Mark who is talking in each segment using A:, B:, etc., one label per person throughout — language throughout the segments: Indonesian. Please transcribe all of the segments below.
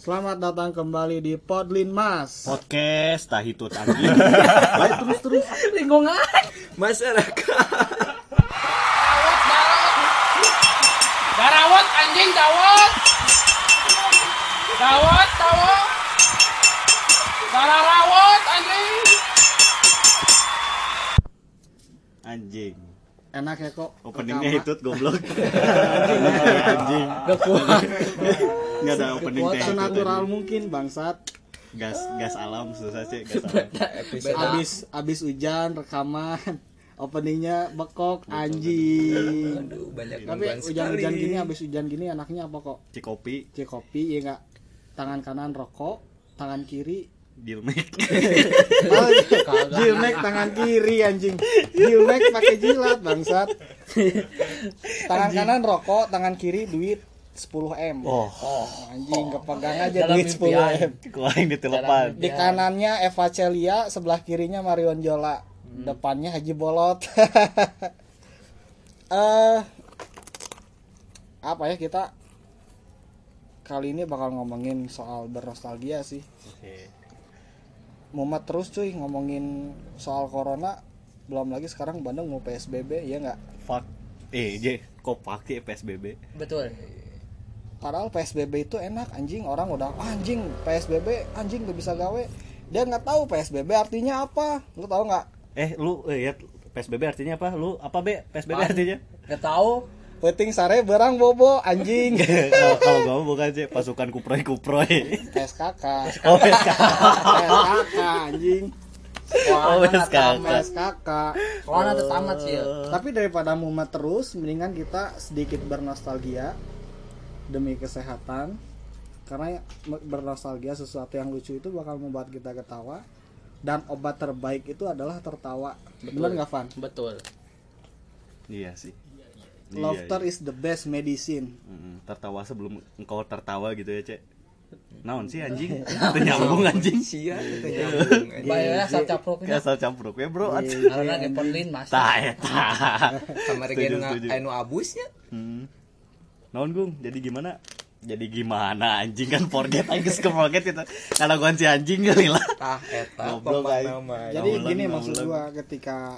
A: Selamat datang kembali di Podlin Mas.
B: Podcast tahitut anjing.
A: Baik terus.
C: Lingkungan
D: masyarakat.
C: Darawat anjing dawat. Dawat. Dararawat anjing.
B: Anjing.
A: Enak ya kok.
B: Openingnya hitut goblok.
A: Anjing.
C: Gak kuat.
B: Enggak ada opening teh.
A: Senatural mungkin bangsat.
B: Gas alam susah sih, gas alam.
A: Abis hujan rekaman. Openingnya bekok anjing.
D: Aduh, banyak
A: Tapi hujan-hujan gini, abis hujan gini enaknya apa kok?
B: Cikopi,
A: Cikopi ya enggak. Tangan kanan rokok, tangan kiri
B: Dilmek.
A: Jilmek tangan kiri anjing. Jilmek pakai jilat bangsat. Tangan kanan rokok, tangan kiri duit 10M.
B: Oh,
A: Anjing kepegang aja
C: Dalam
A: duit 10M.
B: kuaing ditelepan.
A: Di kanannya Eva Celia, sebelah kirinya Marion Jola. Depannya Haji Bolot. Apa ya, kita kali ini bakal ngomongin soal bernostalgia sih.
B: Oke.
A: Mumet terus cuy ngomongin soal corona. Belum lagi sekarang Bandung mau PSBB, ya nggak?
B: Fuck. Kok pakai PSBB?
C: Betul.
A: Padahal PSBB itu enak anjing. Orang udah anjing PSBB anjing gak bisa gawe. Dia nggak tahu PSBB artinya apa. Lu tahu nggak?
B: Lu ya PSBB artinya apa? Lu apa be? PSBB artinya?
C: Gak tahu.
A: Penting sare berang bobo anjing.
B: Kalau gua bukan sih pasukan kuproy.
A: SKK.
B: Oh,
A: SKK anjing.
B: Oh, SKK.
A: SKK.
C: Corona tuh tamat sih ya.
A: Tapi daripada mumet terus, mendingan kita sedikit bernostalgia demi kesehatan. Karena bernostalgia sesuatu yang lucu itu bakal membuat kita ketawa. Dan obat terbaik itu adalah tertawa. Bener nggak, Van?
C: Betul.
B: Iya sih.
A: Laughter is the best medicine.
B: Tertawa sebelum engkau tertawa gitu ya, Cek. Naon sih anjing? Itu nyambung anjing.
D: Sia itu nyambung.
C: Bayarnya asal caproknya.
B: Asal campur ya, Bro.
C: Karena di Podlin Mas.
B: Tah eta.
D: Kamari anu abusnya.
B: Naon Gung? Jadi gimana anjing kan forget geus ke forget itu. Kalau gua si anjing kali lah.
D: Tah eta
B: Goblok,
D: nama.
A: Jadi gini maksud gua, ketika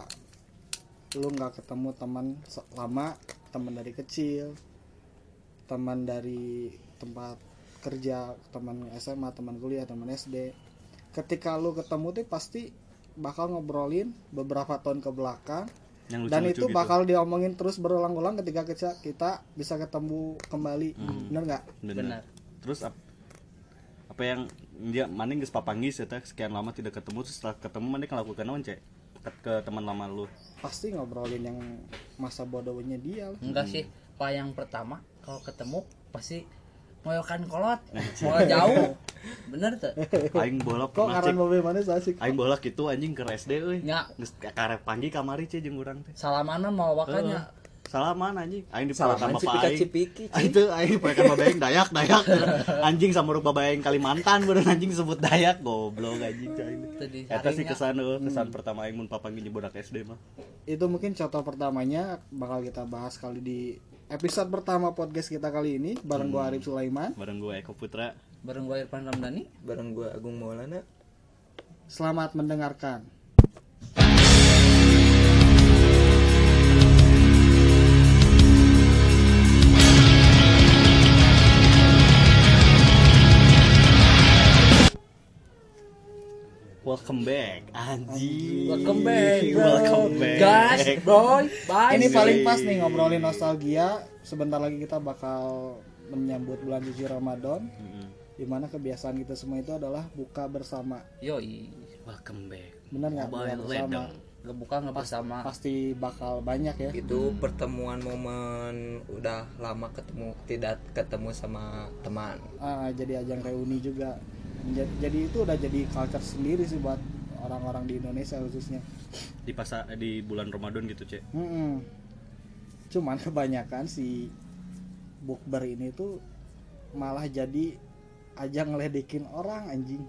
A: lu nggak ketemu teman lama, teman dari kecil, teman dari tempat kerja, teman SMA, teman kuliah, teman SD, ketika lu ketemu tuh pasti bakal ngobrolin beberapa tahun ke belakang.
B: Yang
A: Dan
B: lucu-lucu
A: itu
B: gitu.
A: bakal diomongin terus berulang-ulang ketika kita bisa ketemu kembali. Bener nggak?
C: Benar.
B: Terus apa yang dia maning geus papanggis eta sekian lama tidak ketemu, terus setelah ketemu maneh ngelakukan naon, Cek? Ke teman lama lu.
A: Pasti ngobrolin yang masa bodohnya dia lah.
C: Enggak sih. Pak yang pertama kalau ketemu pasti ngoyokan kolot. Mau jauh. Bener tuh.
B: Aing bola
A: Kok
B: pernah
A: ngaran
B: cek.
A: mobil mana asik?
B: Aing bola kitu anjing ke SD euy.
C: Nya.
B: Geus karep panggil kamari Cek jeung urang teh.
C: Salamanan mau wakanya.
B: Salaman anjing. Aing diperekan
D: Salaman
B: bapak aing.
D: cipika-cipiki.
B: Itu aing diperekan bapak aing dayak. Anjing sama ruk bapak aing Kalimantan bener anjing sebut dayak goblok anjing aing. Eta sih kesan pertama aing mun papanggih budak SD mah.
A: Itu mungkin contoh pertamanya bakal kita bahas kali di episode pertama podcast kita kali ini bareng gua Arif Sulaiman.
B: Bareng gue Eko Putra.
C: Bareng gua Irfan Ramdhani.
D: Bareng gua Agung Maulana.
A: Selamat mendengarkan.
B: Welcome back, anjing.
C: Welcome back, bro.
B: Welcome back.
C: Guys, bro. Bye.
A: Ini paling pas nih ngobrolin nostalgia. Sebentar lagi kita bakal menyambut bulan suci Ramadan. Dimana kebiasaan kita semua itu adalah buka bersama.
C: Yoi.
B: Welcome back.
A: Bener nggak? Buka bersama.
C: Ngebuka nggak bersama.
A: Pasti bakal banyak ya.
D: Itu pertemuan momen udah lama tidak ketemu sama teman.
A: Jadi ajang reuni juga. Jadi itu udah jadi culture sendiri sih buat orang-orang di Indonesia khususnya.
B: Di bulan Ramadan gitu, Cek.
A: Cuman kebanyakan si bukber ini tuh malah jadi ajang ngeledekin orang anjing.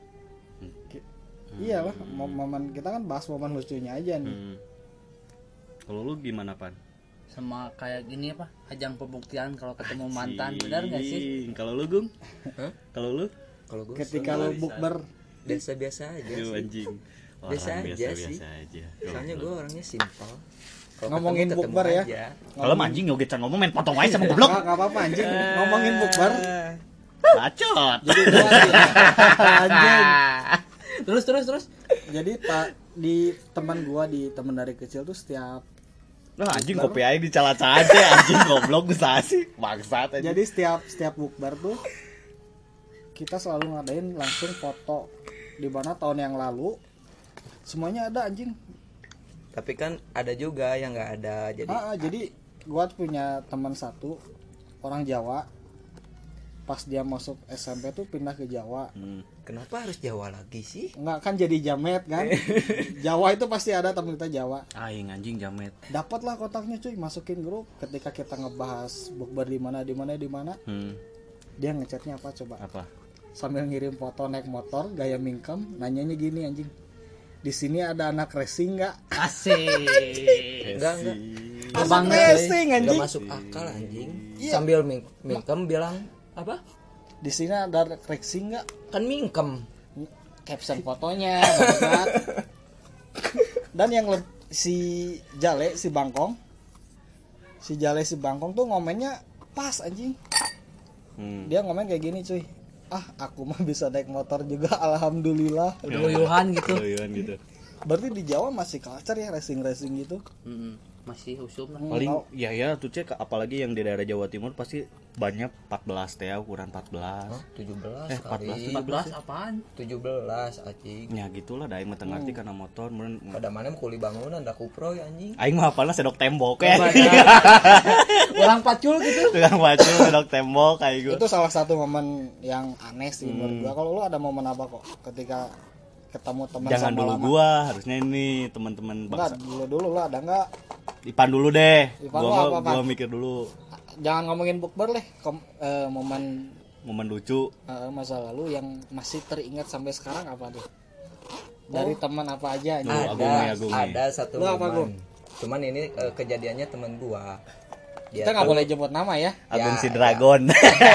A: Iyalah, momen kita kan bahas momen lucunya aja nih.
B: Kalau lu gimana, Pan?
C: sama kayak gini apa ajang pembuktian kalau ketemu mantan, benar nggak sih?
B: Kalau lu Gung? Kalau lu?
D: Kalau gue
A: Ketika lu bukber
D: biasa-biasa aja
B: Aduh,
D: sih.
B: anjing.
D: Biasa
B: Orang
D: aja sih.
B: aja.
D: Soalnya gue orangnya simpel. Kalau
A: Ngomongin
D: ketemu
A: bukber ya.
D: aja.
B: Kalau anjing yoget can ngomong main potong aja sama goblok.
A: Enggak apa-apa anjing ngomongin bukber.
B: Bacot.
A: Jadi gua anjing.
C: Terus
A: Jadi di teman gua di teman dari kecil tuh setiap
B: Nah, anjing kopi aja dicala-cala aja anjing goblok bisa sih. Bangsat aja.
A: jadi setiap bukber tuh kita selalu ngadain langsung foto di mana tahun yang lalu semuanya ada anjing.
D: Tapi kan ada juga yang nggak ada.
A: Jadi gua punya teman satu orang Jawa. Pas dia masuk SMP tuh pindah ke Jawa.
D: Kenapa harus Jawa lagi sih?
A: Enggak kan jadi jamet kan. Jawa itu pasti ada teman kita Jawa.
B: Aing anjing jamet.
A: Dapatlah kontaknya cuy, masukin grup. Ketika kita ngebahas bukber di mana. Dia ngechatnya apa coba?
B: Apa?
A: Sambil ngirim foto naik motor gaya mingkem, nanyanya gini anjing. Di sini ada anak racing enggak?
C: asik.
D: Enggak.
A: Anak racing
D: Nggak
A: anjing.
D: masuk akal anjing.
A: Iya.
D: Sambil mingkem bilang apa?
A: Di sini ada racing enggak?
D: Kan mingkem.
A: Caption fotonya bangsat. Dan yang si Jale si Bangkong tuh ngomennya pas anjing. Dia ngomen kayak gini cuy, aku mah bisa naik motor juga alhamdulillah.
C: Uyuhan gitu.
B: gitu.
A: Berarti di Jawa masih culture ya racing gitu.
C: Masih usum lah.
B: Paling ya tuh cek apalagi yang di daerah Jawa Timur pasti banyak 14 teh ukuran 14.
D: 17
B: 14.
C: 14 apaan?
D: 17 anjing.
B: Ya gitulah da aing mah teu ngarti kana motor mun
D: Pada mana kuli bangunan dah kupro ya anjing.
B: aing mah hafalna sedok tembok ya.
C: Orang pacul gitu.
B: Tukang baju sedok tembok kayak gitu.
A: Itu salah satu momen yang aneh sih menurut gua. Kalau lu ada momen apa kok ketika ketemu teman
B: Jangan
A: sama
B: dulu
A: lama?
B: gua, harusnya ini teman-teman
A: Enggak,
B: bangsa.
A: dulu lah ada enggak?
B: Ipan dulu deh.
A: Ipan lu apa, Pan?
B: Gua mikir dulu
A: Jangan ngomongin bukber deh, momen
B: momen lucu.
A: masa lalu yang masih teringat sampai sekarang apa tuh? Dari teman apa aja
B: Lu,
A: anjing?
B: Agung nih, Agung nih.
D: Ada satu
A: Lu apa, Gung?
D: momen. Cuman ini kejadiannya teman gua. Dia
A: Kita nggak
D: tuh-
A: boleh nyebut nama ya.
B: Agung
D: Ya,
B: si Dragon.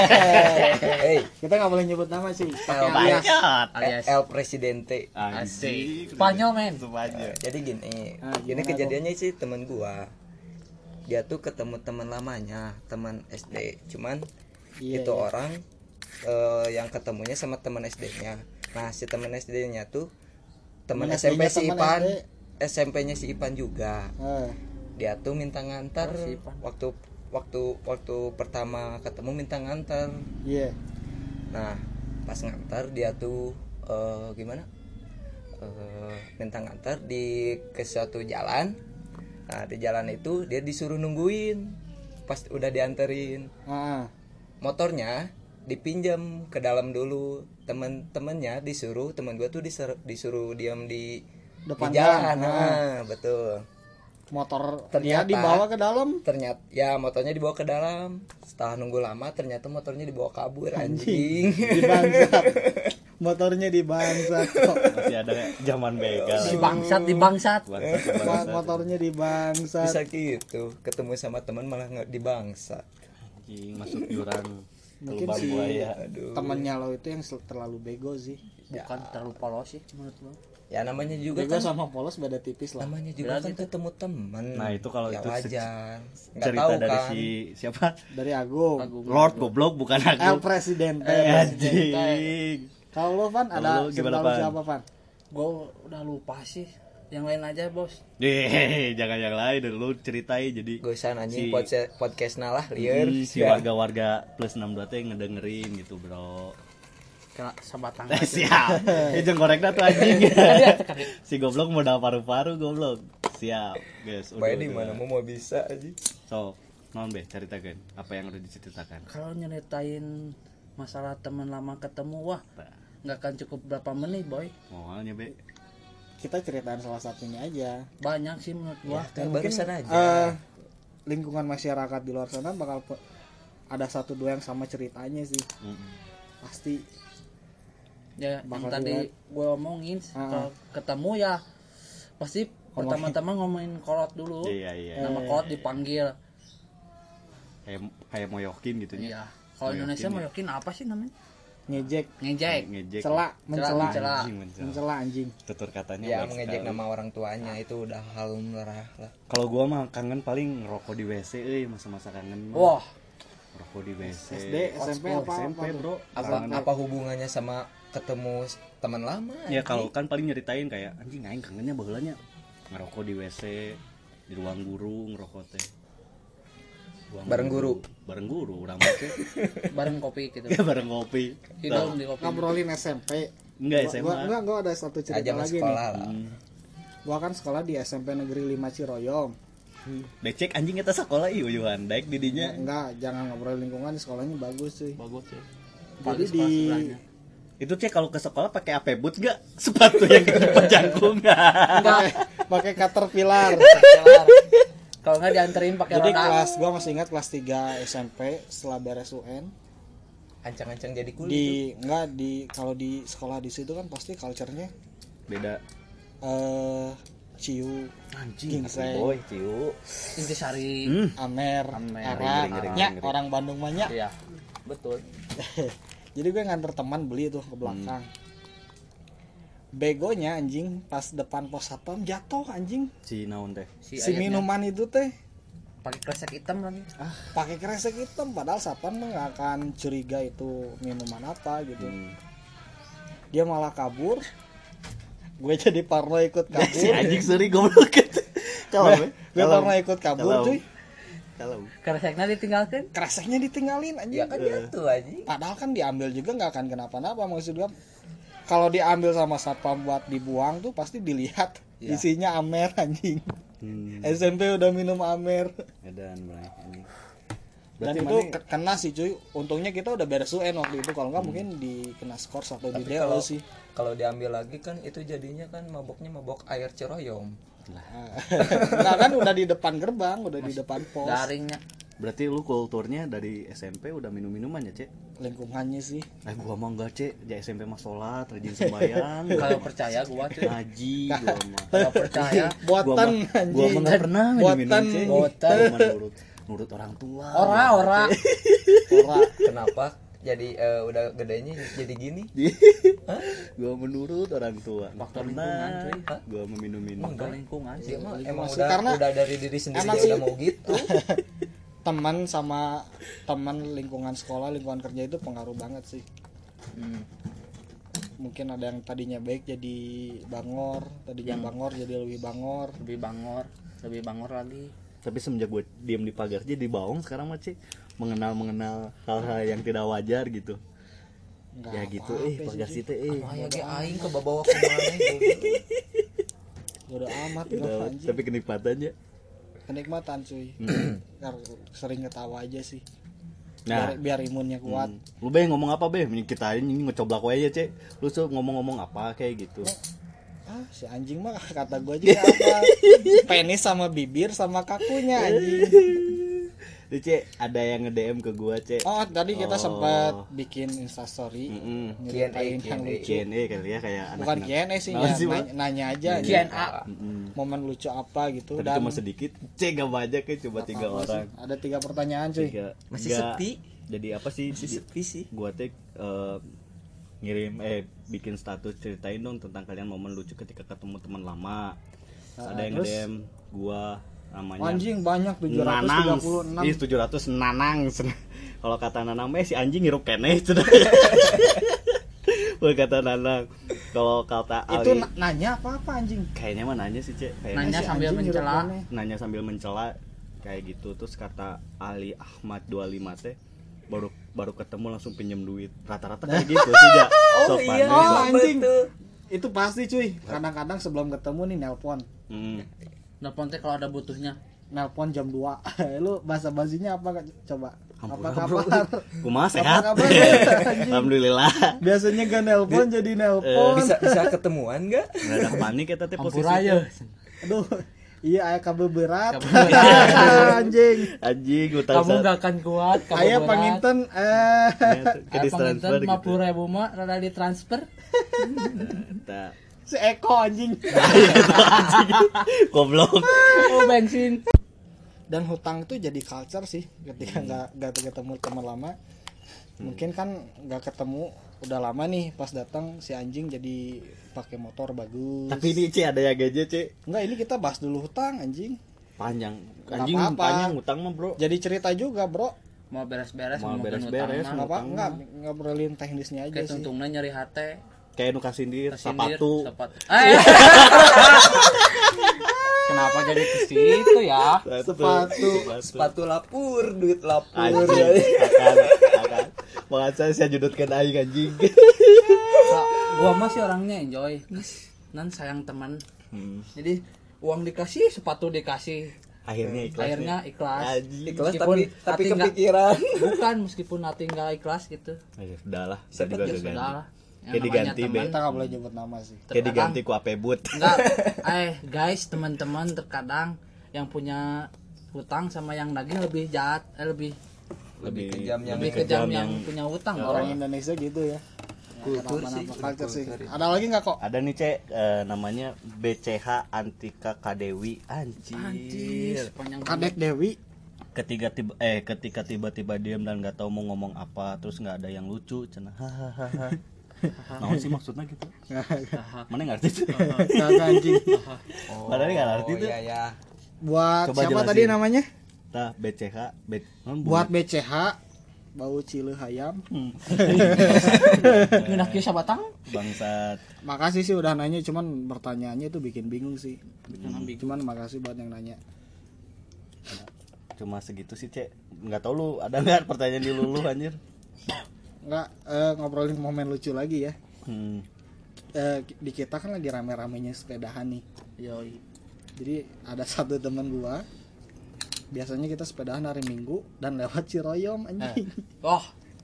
D: Hey,
A: Kita nggak boleh nyebut nama sih. Pakai
D: El
A: alias.
B: Bacot.
C: Alias.
D: El Presidente.
B: Anjing.
C: Spanyol men.
B: Spanyol.
D: Jadi gini,
A: Ah,
D: ini
A: gimana,
D: kejadiannya sih teman gua. Dia tuh ketemu teman lamanya, teman SD. Cuman
A: Iya,
D: itu
A: iya.
D: orang yang ketemunya sama teman SD-nya. Nah, si teman SD-nya tuh teman
A: Teman
D: SMP
A: SD-nya
D: si
A: teman
D: Ipan.
A: SD.
D: SMP-nya si Ipan juga. Dia tuh minta ngantar
C: Oh, si Ipan.
D: waktu pertama ketemu minta ngantar.
A: Iya.
D: Nah, pas ngantar dia tuh gimana? Minta ngantar ke suatu jalan. Nah, di jalan itu dia disuruh nungguin. Pas udah dianterin,
A: Ah,
D: motornya dipinjam ke dalam dulu. Temen-temennya temen gua tuh disuruh diam di
A: Depan
D: jalan.
A: jalan.
D: Nah, betul.
A: motor
D: Ternyata-
A: dia dibawa ke dalam.
D: Ternyata ya motornya dibawa ke dalam. Setelah nunggu lama ternyata motornya dibawa kabur anjing.
A: Dibangsat. Motornya dibangsat kok.
B: Masih ada zaman begal.
C: Dibangsat.
A: Motornya dibangsat.
D: Bisa gitu, ketemu sama teman malah nggak dibangsa.
B: Anjing masuk jurang
A: Mungkin
B: lubang
A: si
B: buaya.
A: temannya lo itu yang terlalu bego sih.
C: Bukan terlalu polos sih menurut lo.
D: Ya namanya juga
A: Bego
D: kan,
A: sama polos beda tipis lah.
D: namanya juga
C: Berarti
D: kan ketemu teman.
B: Nah, itu kalau
D: ya
B: itu
D: wajar. Nggak
B: Cerita
D: tahu
B: dari
D: kan.
B: si siapa?
A: Dari Agung.
B: Lord goblok bukan
A: El
B: aku.
A: Presidente.
B: Anjing.
A: Kalau lo Van ada
B: Kalau lu gimana,
A: cerita lu
B: Van?
A: siapa Van?
C: Gue udah lupa sih. Yang lain aja bos.
B: Jangan yang lain dulu ceritain jadi
D: Gosan anjing
B: Si-
D: podcast nalah liar.
B: si warga-warga plus 62 teh ngedengerin gitu, Bro.
C: Kena sabatang.
B: Siap. Jeung gorekna tuh anjing. Si goblok modal paru-paru goblok. Siap, guys.
D: Bae di mana mau bisa aja.
B: So, naon be ceritakeun apa yang udah diceritakan.
C: Kalau nyeritain masalah teman lama ketemu wah nggak akan cukup berapa menit boy.
B: Moalnya be.
A: Kita ceritain salah satunya aja.
C: Banyak sih menurut gua.
D: Kan barusan aja.
A: Lingkungan masyarakat di luar sana bakal ada satu dua yang sama ceritanya sih. Pasti.
C: Ya yang
A: Bakal
C: tadi
A: relate.
C: gue omongin kalau ketemu ya pasti pertama-tama ngomongin kolot dulu.
B: Iya.
C: Nama kolot dipanggil.
B: kayak moyokin gitu nya.
C: Iya. Kalau Indonesia moyokin apa sih namanya?
A: ngejek,
B: Ngejek.
A: celak, mencela,
B: Anjing,
A: mencela anjing.
B: tutur katanya
D: Ya
B: baik
D: mengejek
B: sekali.
D: nama orang tuanya itu udah hal lumrah lah.
B: Kalau gua mah kangen paling ngerokok di WC masa-masa kangen.
C: Wah,
B: Ngerokok di WC.
A: SD, SMP apa
B: SMP,
A: tuh?
B: Bro.
D: Apa hubungannya sama ketemu teman lama?
B: Ya kalau kan paling nyeritain kayak anjing aing kangennya baheulanya ngerokok di WC, di ruang guru ngerokok teh.
D: Bareng guru.
B: Bareng guru urang mah teh.
C: bareng kopi gitu.
B: Ya bareng kopi.
C: Hidung di kopi.
A: Ngobrolin SMP.
B: Enggak SMA.
A: Gua ada satu cerita
D: Aja
A: lagi
D: sekolah
A: nih.
D: lah.
A: Gua kan sekolah di SMP Negeri 5 Ciroyom.
B: Becek anjing eta sekolah ieu yuhan daek di dinya.
A: Enggak, jangan ngobrol lingkungan, di sekolahnya bagus cuy.
C: Bagus ya.
A: Jadi
C: Bagus
A: di
C: sebelahnya.
B: Itu cek kalau ke sekolah pakai AP boot enggak? Sepatu yang jangkung
A: pakai Caterpillar.
C: Kalau nggak dianterin pakai
A: Jadi
C: roda.
A: gua masih ingat kelas 3 SMP setelah beres UN
D: Ancang-ancang jadi kulit.
A: kalau di sekolah di situ kan pasti culture-nya
B: Beda.
A: ciu,
B: Anjing,
A: ginseng,
B: boy, ciu.
C: Intisari.
A: amer,
C: Amer,
A: arak,
B: ngeri,
A: nya
B: ngeri.
A: orang Bandung mah nya.
C: Iya. Betul.
A: Jadi gue nganter teman beli tuh ke belakang. Begonya anjing pas depan pos satpam jatuh anjing.
B: Si naon teh?
A: Si
C: ayatnya
A: minuman itu teh
C: pakai kresek hitam lagi.
A: pakai kresek hitam padahal satpam mah nggak akan curiga itu minuman apa gitu. Dia malah kabur. Gue jadi parno ikut kabur.
B: Si anjing seri goblok gitu.
A: Gue parno ikut kabur cuy.
B: Kalau
C: Kreseknya ditinggalkan.
A: Kreseknya ditinggalin anjing.
D: Ya kan jatuh aja.
A: Padahal kan diambil juga nggak akan kenapa-napa, maksud gue. Kalau diambil sama satpam buat dibuang tuh pasti dilihat isinya amer anjing. SMP udah minum amer.
B: edan bray anjing.
A: Dan
B: Berarti
A: itu
B: mana-
A: kena sih cuy. Untungnya kita udah beres UN waktu itu. Kalau nggak mungkin dikena skor atau di
D: Tapi
A: DO
D: kalau
A: sih.
D: kalau diambil lagi kan itu jadinya kan maboknya mabok air Ciroyom.
A: Nah kan udah di depan gerbang, udah di depan pos.
C: Daringnya.
B: Berarti lu kulturnya dari SMP udah minum-minuman ya, Cek?
A: Lingkungannya sih.
B: Gua mah enggak, Cek. Di SMP mah salat, rajin sembahyang.
C: Kalau percaya gua tuh.
B: Ngaji gua mah.
C: Kalau percaya
A: Buatan
B: Gua mah
A: anjing.
B: enggak pernah
A: Buatan.
B: minum, Cek.
C: Buatan.
B: Gua mah nurut orang tua.
C: ora.
A: Ora.
D: Kenapa jadi udah gedenya jadi gini?
B: Gua menurut orang tua.
C: Faktor
B: Pernah
C: lingkungan, cuy.
B: gua meminum-minum.
C: Faktor lingkungan sih.
D: Dia mah emang
A: Sih,
D: udah
A: karena
D: dari diri sendiri
A: emang
D: dia
A: sih-
D: udah mau gitu.
A: Teman sama teman lingkungan sekolah, lingkungan kerja itu pengaruh banget sih. Mungkin ada yang tadinya baik jadi bangor, tadinya bangor jadi lebih bangor.
C: Lebih bangor lagi.
B: Tapi semenjak gue diem di pagar jadi baong sekarang mah, Cek, mengenal hal-hal yang tidak wajar gitu.
A: Nggak
B: Ya gitu
A: apa-apa
B: pagar
A: sih,
B: situ
D: Aya ge aing ke bawa ke mana
A: Bodo amat
B: Udah,
A: gua anjing.
B: tapi kenikmatannya.
A: Kenikmatan cuy. Sering ketawa aja sih.
B: Nah,
A: Biar imunnya kuat.
B: lu be ngomong apa be? Kita ini ngecoblak wae ya, Cek. Lu suka ngomong-ngomong apa kayak gitu.
A: Si anjing mah kata gua juga apa? Penis sama bibir sama kakunya anjing.
B: Tuh, Cek, ada yang nge-DM ke gua, Cek.
A: Oh, tadi kita
B: Oh.
A: sempat bikin instastory nyeritain yang lucu.
B: Q&A kali ya kayak anak.
A: Bukan Q&A sih,
B: Nah, sih,
A: nanya, nanya aja.
C: Q&A.
A: Momen lucu apa gitu.
B: Tapi
A: Dan
B: cuma sedikit, Cek, gak banyak ya, cuma 3
A: apa sih?
B: orang.
A: Ada 3 pertanyaan cuy.
D: Masih
B: Nggak-
D: sepi.
B: Jadi apa sih?
D: Sepi sih.
B: Gua teh ngirim bikin status ceritain dong tentang kalian momen lucu ketika ketemu teman lama. Ada yang
A: terus?
B: DM gua namanya
A: Anjing banyak
B: Nanang.
A: 736.
B: Ih 700 Nanang. Kalau kata Nanang si anjing hirup keneh cenah. Bukan kata Nanang. Kalau kata
A: Itu
B: Ali
A: nanya apa anjing?
B: kayaknya mah nanya sih, Cek. Kayaknya
C: Nanya
A: Si
C: sambil
A: anjing hirup
C: mencela.
A: aneh.
B: nanya sambil mencela kayak gitu. Terus kata Ali Ahmad 25 teh baru ketemu langsung pinjam duit. Rata-rata kayak gitu sih, Ja. Sok panis.
A: Oh, anjing. Itu pasti cuy. Kadang-kadang sebelum ketemu nih nelpon.
C: Nelpon teh kalau ada butuhnya.
A: Nelpon jam 2. Lu bahasa basinya apa coba?
B: Ampun,
A: Apa
B: bro.
A: kabar?
B: Kumaha sehat?
A: Apa kabar? Anjing.
B: Alhamdulillah.
A: Biasanya gak nelpon jadi nelpon.
D: Bisa ketemuan enggak?
B: Nggak ada panik eta teh posisi.
C: Ampura
A: Aduh. Iya aya kabel berat. Anjing.
B: Anjing utang
C: Kamu gak akan kuat. Kamu
A: Aya
C: berat.
A: panginten
B: ke distransfer gitu.
C: 50.000 mah rada ditransfer.
B: Eta
A: si Eko anjing.
B: goblok.
C: Oh bensin.
A: Dan hutang itu jadi culture sih ketika nggak ketemu teman lama. Mungkin kan nggak ketemu udah lama nih, pas datang si anjing jadi pakai motor bagus.
B: Tapi ini C ada ya gaje C.
A: Enggak, ini kita bahas dulu hutang anjing.
B: Panjang.
A: Nggak
B: Anjing
A: apa-apa.
B: panjang utang mah, Bro.
A: Jadi cerita juga, Bro.
C: Mau beres-beres
B: Mau
C: ngomongin
B: beres-beres,
C: utang
A: Nggak
C: mah.
A: apa, nggak ngobrolin teknisnya aja
C: Kayak
A: sih.
C: tuntungnya nyeri hati.
B: Kayak nu kasindir
C: Kesindir,
B: sepatu.
C: Kenapa jadi ke situ ya?
D: Sepatu lapur, duit lapur.
B: Anjing, akan. Makanya saya judutkan aing anjing.
C: Gua mah sih orangnya enjoy. Nan sayang teman. Jadi uang dikasih, sepatu dikasih.
B: Akhirnya ikhlas.
C: Akhirnya ikhlas.
B: Anjing.
D: Ikhlas
C: Meskipun
D: tapi
C: hati nggak-
D: kepikiran.
C: Bukan, meskipun hati nggak ikhlas gitu.
B: Ya sudahlah, saya juga
C: Ya
B: gak
C: sudah
B: ganti.
C: lah. Yang
B: Kayak
C: namanya
B: diganti,
C: teman.
A: Kita nggak boleh nyebut nama sih.
B: Kayak
C: Terkadang-
B: diganti ku apebut.
C: Enggak, guys, teman-teman terkadang yang punya hutang sama yang nagih lebih jahat, lebih
D: kejam yang
C: yang punya hutang.
A: Orang
C: Orang
A: Indonesia gitu ya.
D: Kultur
A: Kenapa-napa
D: sih,
A: culture sih.
D: kultur.
A: Ada lagi nggak kok?
B: Ada nih Cek, namanya BCH Antika Kadewi.
C: anjir,
B: Anjir.
C: sepanjang
A: Kadek Dewi.
B: Ketika tiba-tiba diam dan nggak tahu mau ngomong apa, terus nggak ada yang lucu, cenah hahaha. Naon sih maksudnya gitu? Mana ngerti tuh?
A: Kagak anjing.
B: Padahal nggak ngerti tuh.
D: Iya ya.
A: Buat
B: Coba
A: siapa
B: jelasin.
A: tadi namanya?
B: Tah BCH,
A: Buat BCH bau cileu hayam.
C: Ngenak kieu sabatang.
B: bangsat.
A: Makasih sih udah nanya, cuman pertanyaannya itu bikin bingung sih. Cuman makasih buat yang nanya.
B: Cuma segitu sih Cek. Nggak tahu lu ada nggak pertanyaan di lulu anjir?
A: Nggak, ngobrolin momen lucu lagi ya. Di kita kan lagi rame-ramenya sepedahan nih.
C: Yoi.
A: Jadi ada satu teman gua, biasanya kita sepedahan hari Minggu dan lewat Ciroyom anjing.
C: Oh,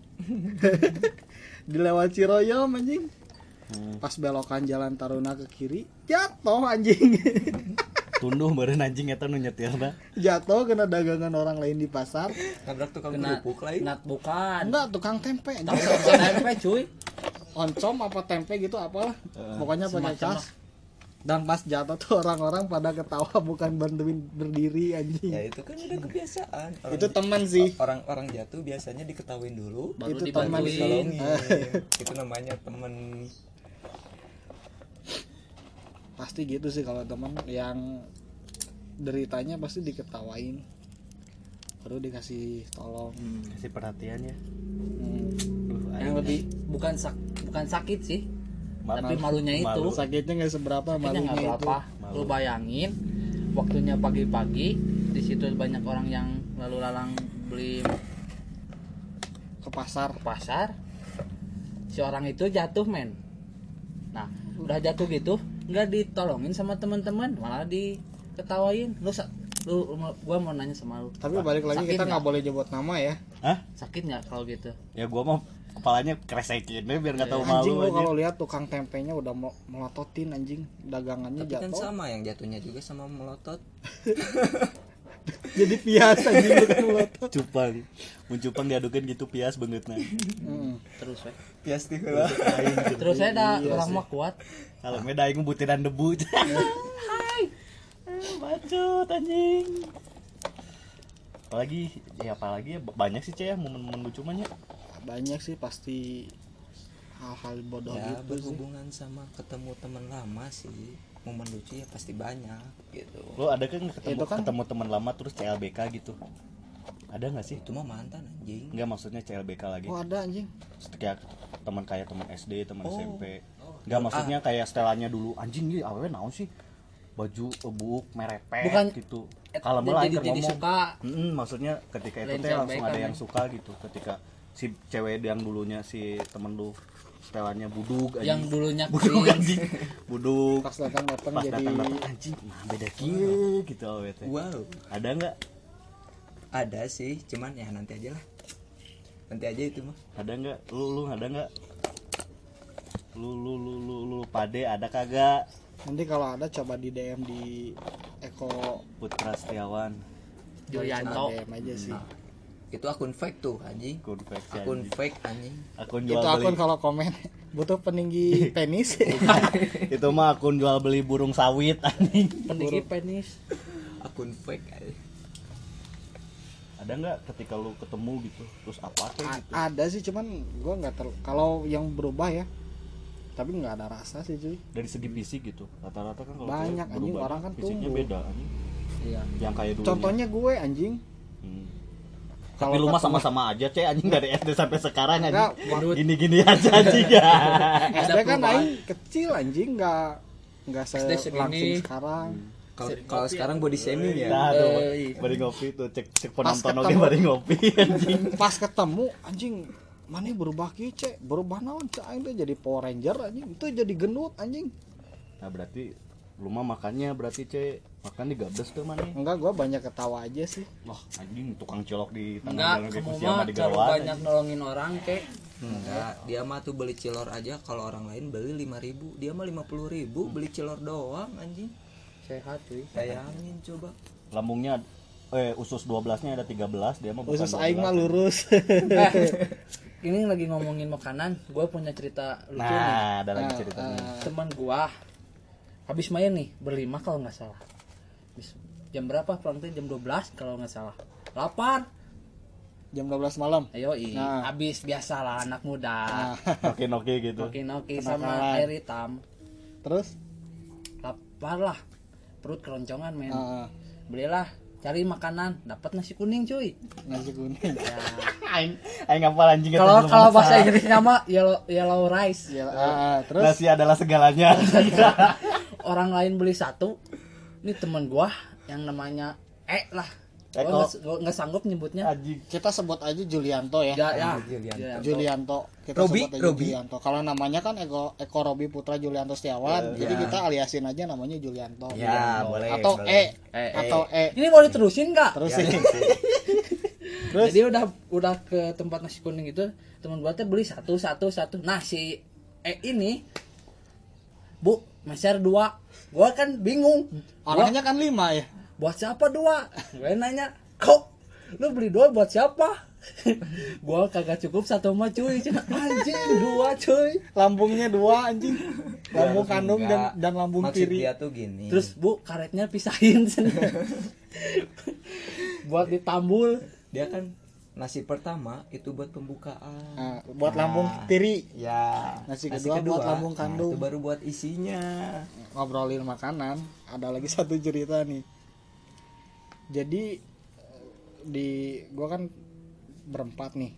A: Dilewat Ciroyom anjing. Pas belokan jalan Taruna ke kiri, jatuh anjing.
B: Tunduh beureun anjing eta nu nyetirna.
A: Jatuh kena dagangan orang lain di pasar.
D: Nabrak tukang
C: kena
D: kerupuk lain.
C: nat bukan.
A: Enggak, tukang tempe
C: Tahu
A: anjing.
C: tempe cuy.
A: Oncom apa tempe gitu apalah. Pokoknya pakai
C: semacam
A: cas. Dan pas jatuh tuh orang-orang pada ketawa, bukan bantuin berdiri anjing.
D: Ya itu kan udah kebiasaan.
A: Itu teman sih.
D: Orang jatuh biasanya diketawain dulu,
C: Baru
A: Itu teman
C: dibantuin.
A: sih.
D: itu namanya temen.
A: Pasti gitu sih kalau teman yang deritanya pasti diketawain, baru dikasih tolong.
B: Kasih perhatian ya.
C: Yang lebih bukan sakit sih. Tapi malunya itu.
B: Malu.
A: Sakitnya nggak seberapa,
C: Sakitnya nggak
A: malunya itu.
C: berapa. Lu bayangin waktunya pagi-pagi, di situ banyak orang yang lalu lalang beli
A: Ke pasar.
C: ke pasar. Si orang itu jatuh men. Nah, udah jatuh gitu, nggak ditolongin sama teman-teman, malah diketawain. Gua mau nanya sama lu.
A: Tapi balik lagi,
C: Sakit
A: kita nggak
C: nggak?
A: boleh nyebut nama ya.
B: Hah?
C: Sakit nggak kalau gitu?
B: Ya gua mau kepalanya kresekin deh biar nggak tahu malu
A: Anjing, lo
B: aja.
A: kalau lihat tukang tempenya udah melototin anjing, dagangannya
D: Tapi kan
A: jatuh.
D: sama yang jatuhnya juga sama melotot.
A: Jadi pias anjing lu kan melotot.
B: Cupang. Mun cupang diadukeun gitu pias beungeutna.
C: Terus we.
D: Pias teh heula.
C: Terus saya dah
A: Iya
C: orang
A: sih.
C: mah kuat.
B: Kalau meda aing butiran debu. Hai. Bacot anjing. Apalagi ya banyak sih Cek ya momen-momen lucu mah nya.
A: Banyak sih pasti hal-hal bodoh
D: Ya
A: gitu sih.
D: berhubungan sama ketemu teman lama sih. Momen lucu ya pasti banyak gitu.
B: Lo ada kan
A: Itu kan-
B: ketemu teman lama terus CLBK gitu? Ada nggak sih?
D: Itu mah mantan anjing.
B: Enggak, maksudnya CLBK lagi.
A: Oh ada anjing.
B: Kayak teman SD, teman
D: Oh.
B: SMP. Enggak, maksudnya kayak setelannya dulu. Anjing nih awewe naon sih? Baju buuk merepet
C: Bukan-
B: gitu. Kalau malah
C: jadi
B: ngomong.
C: suka.
B: Maksudnya ketika itu
C: Lain
B: teh langsung
C: CLBK
B: ada
C: kan.
B: yang suka gitu. Ketika si cewek yang dulunya si temen lu setelannya buduk anjing.
C: Yang dulunya
B: buduk
C: cringe.
B: anjing. Buduk.
A: Pas datang
B: Pas
A: jadi
B: datang anjing, nah beda kieu gitu awewe teh.
D: Wow.
B: Ada enggak?
D: Ada sih, cuman ya nanti aja lah. Nanti aja itu mah.
B: Ada enggak? Lu ada enggak? Lu pade ada kagak?
A: nanti kalau ada coba di DM di Eko
B: Putra Setiawan.
C: Julianto.
A: DM aja sih.
D: Itu akun fake tuh anjing.
B: Akun fake si
D: Akun
B: anjing.
D: fake anjing.
B: Akun
A: Itu
B: jual
A: akun
B: beli.
A: kalau komen butuh peninggi penis.
B: Itu mah akun jual beli burung sawit anjing.
C: Peninggi penis.
D: Akun fake anjing.
B: Ada nggak ketika lu ketemu gitu terus apa kayak gitu?
A: Ada sih, cuman gue nggak kalau yang berubah ya, tapi nggak ada rasa sih cuy.
B: Dari segi fisik gitu rata-rata kan kalau
A: Banyak,
B: cewek
A: anjing,
B: berubah,
A: orang kan
B: fisiknya
A: tumbuh.
B: beda anjing.
C: Iya.
B: Yang kayak dulu
A: Contohnya gue anjing.
B: Tapi lu mah sama-sama aja cek anjing dari SD sampai sekarang
A: Enggak,
B: anjing gini-gini aja anjing ya.
A: SD kan aing kecil anjing, nggak
C: SD segini.
A: langsung sekarang.
D: Kalau sekarang body shaming ya.
B: Nah tuh
C: iya.
B: bari ngopi tuh cek
A: Pas
B: penonton oke
A: ketemu.
B: bari ngopi anjing.
A: Pas ketemu anjing, mana berubah kieu cek, berubah naon cek aing teh jadi Power Ranger anjing, itu jadi gendut anjing.
B: Nah berarti lu mah makannya berarti cek makan di gabdes tuh mana?
A: Enggak, gua banyak ketawa aja sih.
B: Wah anjing tukang colok di
C: Enggak,
B: tanggal lagi
C: kamu
B: kursi sama
C: mah
B: di
C: terlalu
B: gawat.
C: banyak nolongin orang kek.
D: Enggak, dia mah tuh beli cilor aja kalau orang lain beli 5.000, dia mah 50.000 beli cilor doang anjing.
C: Sehat cuy.
D: Bayangin coba.
B: Lambungnya usus 12-nya ada 13, dia mah bukan
A: Usus
B: 12.
A: aing mah lurus.
C: Ini lagi ngomongin makanan, gue punya cerita lucu nih.
B: Nah, ada lagi ceritanya.
C: Teman gua habis main nih berlima kalau nggak salah. Habis jam berapa? Pulang tuh jam 12 kalau nggak salah. Lapar.
A: Jam 12 malam.
C: Ayo,
A: Nah.
C: habis biasalah anak muda.
B: Oke gitu.
C: Noki
A: Kenakalan.
C: sama air hitam.
A: Terus
C: Lapar lah. Perut keroncongan men.
A: ah,
C: Belilah cari makanan, dapat nasi kuning cuy.
A: nasi kuning.
C: Ya.
B: Aing ngapal anjing
C: Kalau bahasa Inggrisnya mah yellow rice.
A: Ya, terus
B: nasi adalah segalanya.
C: Orang lain beli satu. Ini teman gua yang namanya lah. Gua nggak sanggup nyebutnya.
B: Anjing.
A: kita sebut aja Julianto ya.
C: Ya.
A: Julianto. Kita
D: Robi,
A: sebut aja
D: Robi.
A: Julianto. Kalau namanya kan Eko Robi Putra Julianto Setiawan, jadi kita aliasin aja namanya Julianto.
D: Ya, boleh.
A: Atau
D: boleh.
A: atau
C: Ini mau diterusin nggak?
A: Terus
D: Ya,
A: sih.
D: terus.
C: Jadi udah ke tempat nasi kuning itu, teman gua teh beli satu. Nah si ini Bu, meser 2. Gua kan bingung.
A: Orangnya kan 5 ya.
C: Buat siapa 2? Gue nanya, kok lu beli 2 buat siapa? Gua kagak cukup 1 mah cuy. Anjing 2 cuy.
A: Lambungnya 2 anjing. Lambung kandung dan lambung
D: Maksud
A: kiri.
D: dia tuh gini.
C: Terus Bu, karetnya pisahin buat ditambul.
D: Dia kan nasi pertama itu buat pembukaan.
A: Nah, buat lambung kiri.
D: Ya.
A: Nasi kedua buat lambung kandung.
D: Itu baru buat isinya.
A: Ngobrolin makanan, ada lagi satu cerita nih. Jadi gua kan berempat nih.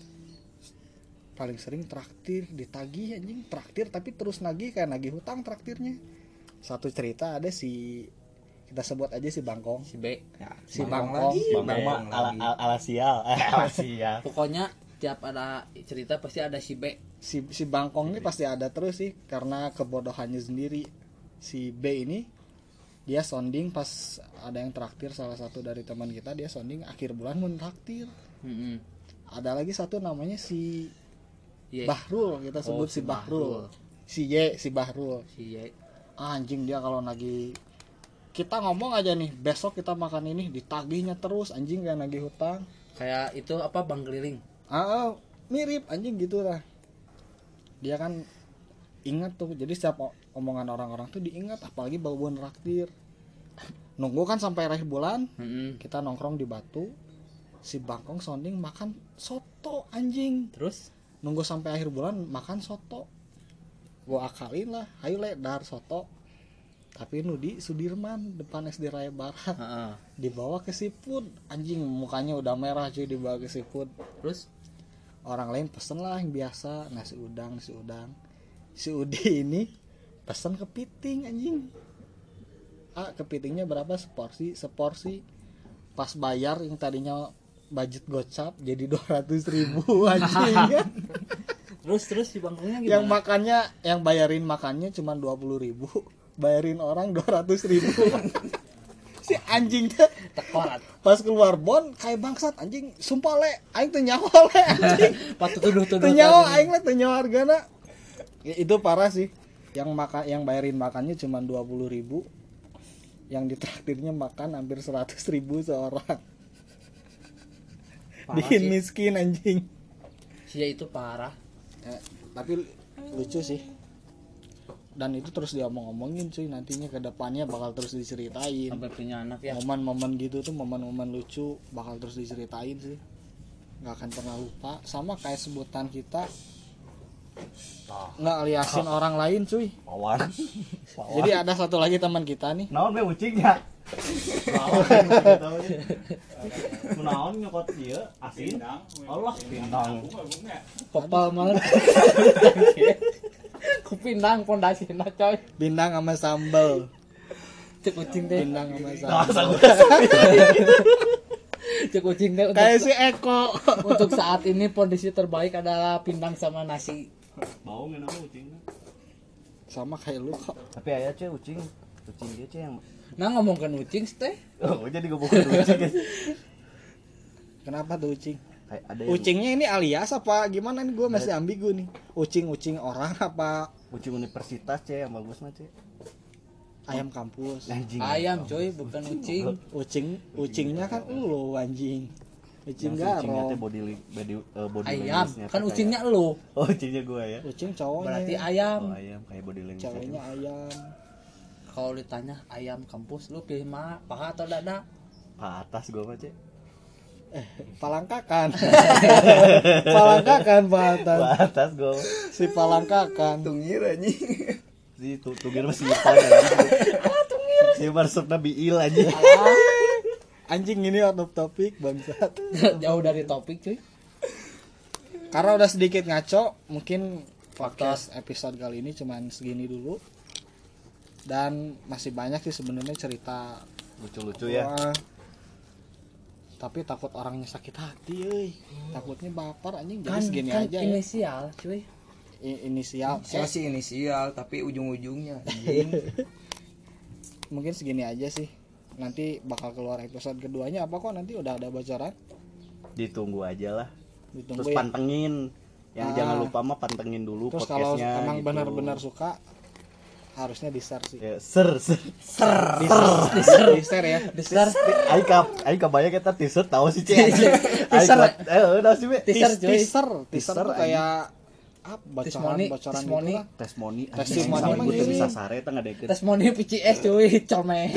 A: Paling sering traktir, ditagih anjing, traktir tapi terus nagih kayak nagih hutang traktirnya. Satu cerita ada kita sebut aja si Bangkong.
C: Si B.
D: Ya,
A: Si
D: Bangkong
A: Bangkong.
D: lagi.
B: Bang mah ala sial. Ala sial.
C: Pokoknya tiap ada cerita pasti ada si B.
A: Si Bangkong ini pasti ada terus sih karena kebodohannya sendiri. Si B ini dia sounding pas ada yang traktir, salah satu dari teman kita, dia sounding akhir bulan mau traktir. Ada lagi satu namanya si
C: Ye.
A: Bahrul, kita sebut si Bahrul. Si Bahrul.
C: Si Y.
A: Anjing dia kalau nagih, kita ngomong aja nih besok kita makan ini, ditagihnya terus anjing kayak nagih hutang.
C: Kayak itu apa, Bang Keliling.
A: Mirip anjing gitu lah. Dia kan ingat tuh, jadi setiap omongan orang-orang tuh diingat, apalagi bau-bau traktir. Nunggu kan sampai akhir bulan, kita nongkrong di Batu, si Bangkong sounding makan soto anjing.
C: Terus
A: Nunggu sampai akhir bulan makan soto, gua akalin lah, ayo le dar soto. Tapi nu di Sudirman depan SD Raya Barat, dibawa ke seafood, anjing mukanya udah merah cuy, dibawa ke seafood.
C: terus
A: Orang lain pesen lah yang biasa, nasi udang. Si Udi ini pesen kepiting anjing. Kepitingnya berapa seporsi. Pas bayar yang tadinya budget gocap jadi 200.000 anjing kan.
C: terus si bangkongnya gimana?
A: Yang makannya, yang bayarin makannya cuma 20.000, bayarin orang 200.000. Si anjingnya
C: Tekorat.
A: pas keluar bon kayak bangsat anjing, sumpah le aing teu nyawa le anjing.
C: Patut tuduh
A: Teu nyawa aing mah teu nyawa hargana. Ya, itu parah sih. Yang bayarin makannya cuma 20.000. Yang ditraktirnya makan hampir 100.000 seorang.
C: Parah
A: Bikin
C: sih.
A: miskin anjing.
C: Si Y itu parah.
A: Tapi lucu sih. dan itu terus diomong-omongin cuy, nantinya ke depannya bakal terus diceritain
C: sampai punya anak ya.
A: momen-momen gitu tuh, momen-momen lucu bakal terus diceritain sih, nggak akan pernah lupa. Sama kayak sebutan kita nggak aliasin orang lain cuy.
B: Wawan.
A: Jadi ada satu lagi teman kita nih,
B: Naon be ucingnya? Naon nyokot ieu asin? Allah pindang.
C: Popal banget. Ku pindang pondasina coy.
A: bindang sama sambel,
C: Cek kucing teh.
A: bindang sama
B: Nah,
A: sambel.
C: Cek kucing teh
A: Kayak si Eko.
C: untuk saat ini kondisi terbaik adalah pindang sama nasi.
B: Bau nggak nama ucingnya?
A: Sama kayak lu kok.
B: Tapi aya ce ucing dia ce yang
C: Nah ngomongkan ucing teh.
B: oh jadi ngomongin ucing guys.
A: Kenapa tuh ucing?
B: Kayak ada yang
A: Ucingnya ini alias apa gimana nih, gue masih ambigu nih. Ucing orang apa
B: ucing universitas ce yang bagus mah ce.
A: ayam kampus?
B: Anjing.
C: Ayam coy, bukan ucing.
A: Ucingnya kan lu anjing. Ucing
B: Ucingnya teh
A: garo.
B: body
C: Ayam.
B: language-nya
C: Kan
B: teh
C: ucingnya
B: kayak-
C: lu.
B: Oh, ucingnya gua ya.
A: Ucing cowoknya.
C: Berarti
B: Oh,
C: ayam.
B: ayam kayak body language.
A: Ceweknya ayam.
C: Kalau ditanya ayam kampus lu pilih mana? Paha atau dada?
B: Ke atas gua mah ce.
A: Palangkakan. Palangkakan
B: Ke
A: Pak.
B: atas gua.
A: Si palangkakan.
D: Tungir anjing.
B: Si tugir masih hitam anjing. Si marsupna biil anjing.
A: Anjing ini out of topic bangsat.
C: Jauh dari topik cuy.
A: Karena udah sedikit ngaco, mungkin podcast episode kali ini cuman segini dulu. Dan masih banyak sih sebenarnya cerita
B: Lucu-lucu ya.
A: Wah. Tapi takut orangnya sakit hati euy. Takutnya baper anjing, jadi segini aja ya.
C: inisial cuy.
A: Inisial.
D: Saya sih inisial tapi ujung-ujungnya anjing.
A: Mungkin segini aja sih. Nanti bakal keluar episode keduanya apa kok, nanti udah ada bocoran.
B: Ditunggu aja lah.
A: Ditunggu
B: Terus
A: ya.
B: pantengin. Yang
A: Ah.
B: jangan lupa mah pantengin dulu
A: Terus kalau
B: podcastnya.
A: emang
B: gitu.
A: benar-benar suka harusnya di-share sih.
B: Ya,
A: Di-share ya.
C: Besar
B: Aing kebayang kita t-shirt tahu sih Cek.
C: Teaser.
B: Udah sih be.
C: Teaser, cuy.
A: Teaser
B: Teaser,
A: tuh kayak
C: Testimoni,
A: bocoran gitu
C: testimoni.
A: lah.
B: Testimoni.
A: Testimoni mah
B: Gue
A: gini.
B: bisa sare eta ngadeket.
C: Testimoni PCS cuy, colme.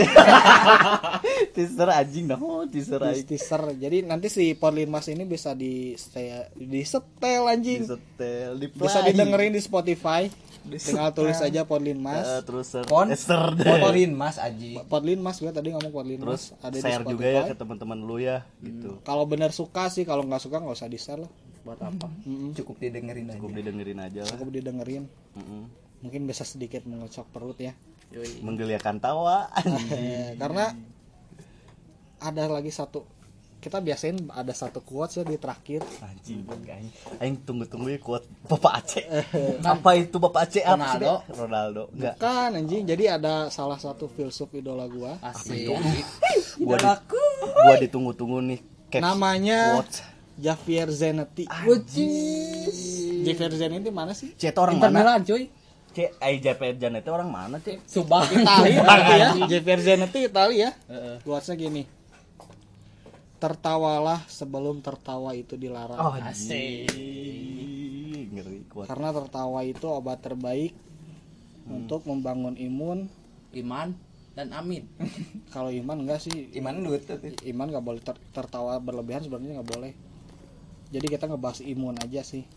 B: Teaser anjing dah. Oh, teaser aing.
A: Teaser. Jadi nanti si Podlin Mas ini bisa di setel anjing.
B: Disetel, di
A: Bisa didengerin di Spotify. Tinggal tulis aja Podlin Mas.
B: terus
D: Pon.
B: ser
D: Motorin Mas Aji.
A: Podlin Mas, gue tadi ngomong Podlin
B: terus
A: Mas. Ada di
B: share
A: Spotify.
B: juga ya ke teman-teman lu ya gitu.
A: Kalau bener suka sih, kalau nggak suka nggak usah di-share lah.
C: Buat apa?
D: Cukup didengerin aja.
B: Cukup didengerin aja lah.
A: Cukup didengerin.
B: Mm-mm.
A: Mungkin bisa sedikit mengocok perut ya.
C: Yoi.
B: Menggeliakan tawa.
A: Karena ada lagi satu, kita biasain ada satu quotes ya di terakhir.
B: Anjing aing tunggu-tunggu ya kuat Bapak Aceh. Apa itu Bapak Aceh? Apa sih,
C: Ronaldo.
B: Be? Ronaldo. Enggak.
A: Kan anjing, jadi ada salah satu filsuf idola gua.
C: Asik.
B: Gua ditunggu-tunggu nih. Caps
A: Namanya
B: quotes.
A: Javier Zanetti. Javier Zanetti mana sih?
B: Cek itu orang
C: Inter
B: mana?
C: Milan cuy.
B: Cek Javier Janet itu orang mana, Cek?
C: Subang.
A: Italia berarti ya. Javier Zanetti Italia.
C: Heeh.
A: Quotesnya gini. Tertawalah sebelum tertawa itu dilarang.
B: Oh,
C: Asik.
B: Ngeri kuat.
A: Karena tertawa itu obat terbaik untuk membangun imun.
C: Iman dan Amin.
A: Kalau iman enggak sih.
D: Iman duit tapi.
A: Iman nggak boleh tertawa berlebihan, sebenarnya nggak boleh. Jadi kita ngebahas imun aja sih.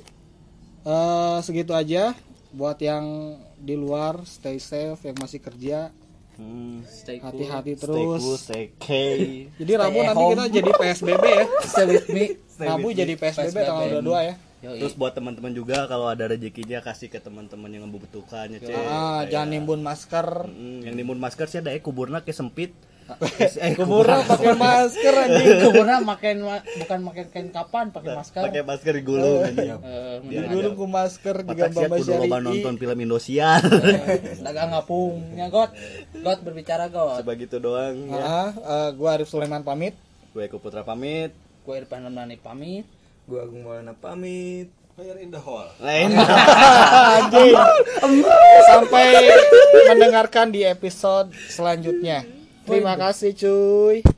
A: Segitu aja. Buat yang di luar, stay safe. Yang masih kerja,
C: Stay cool.
A: hati-hati
B: Stay
A: terus.
B: cool, stay K.
A: Jadi Rabu
D: Stay
A: nanti
D: home.
A: kita jadi PSBB ya.
C: Stay with me.
A: Rabu jadi PSBB tanggal 22 ya.
C: Yoi.
B: Terus buat teman-teman juga kalau ada rezekinya kasih ke teman-teman yang membutuhkannya, Cek.
A: Jangan nimbun masker.
B: Yang nimbun masker sih ada kuburna ke sempit.
A: Kuburan pakai masker anjing.
C: Kuburna bukan makan kain kapan, pakai masker.
B: Pakai masker digulung anjing.
A: Dulu ku masker juga
B: Patak sia
A: Bamba
B: kudu loba
A: Syari'i.
B: nonton film Indosiar.
C: Dagang ngapungnya got. Got berbicara got.
B: Coba gitu doang ya.
A: Gua Arif Sulaiman pamit.
B: Gue Eko Putra pamit.
C: Gue Irfan Ramdhani pamit.
D: Gua Agung Maulana pamit.
B: Lain.
A: Anjing. Sampai mendengarkan di episode selanjutnya. Terima kasih cuy.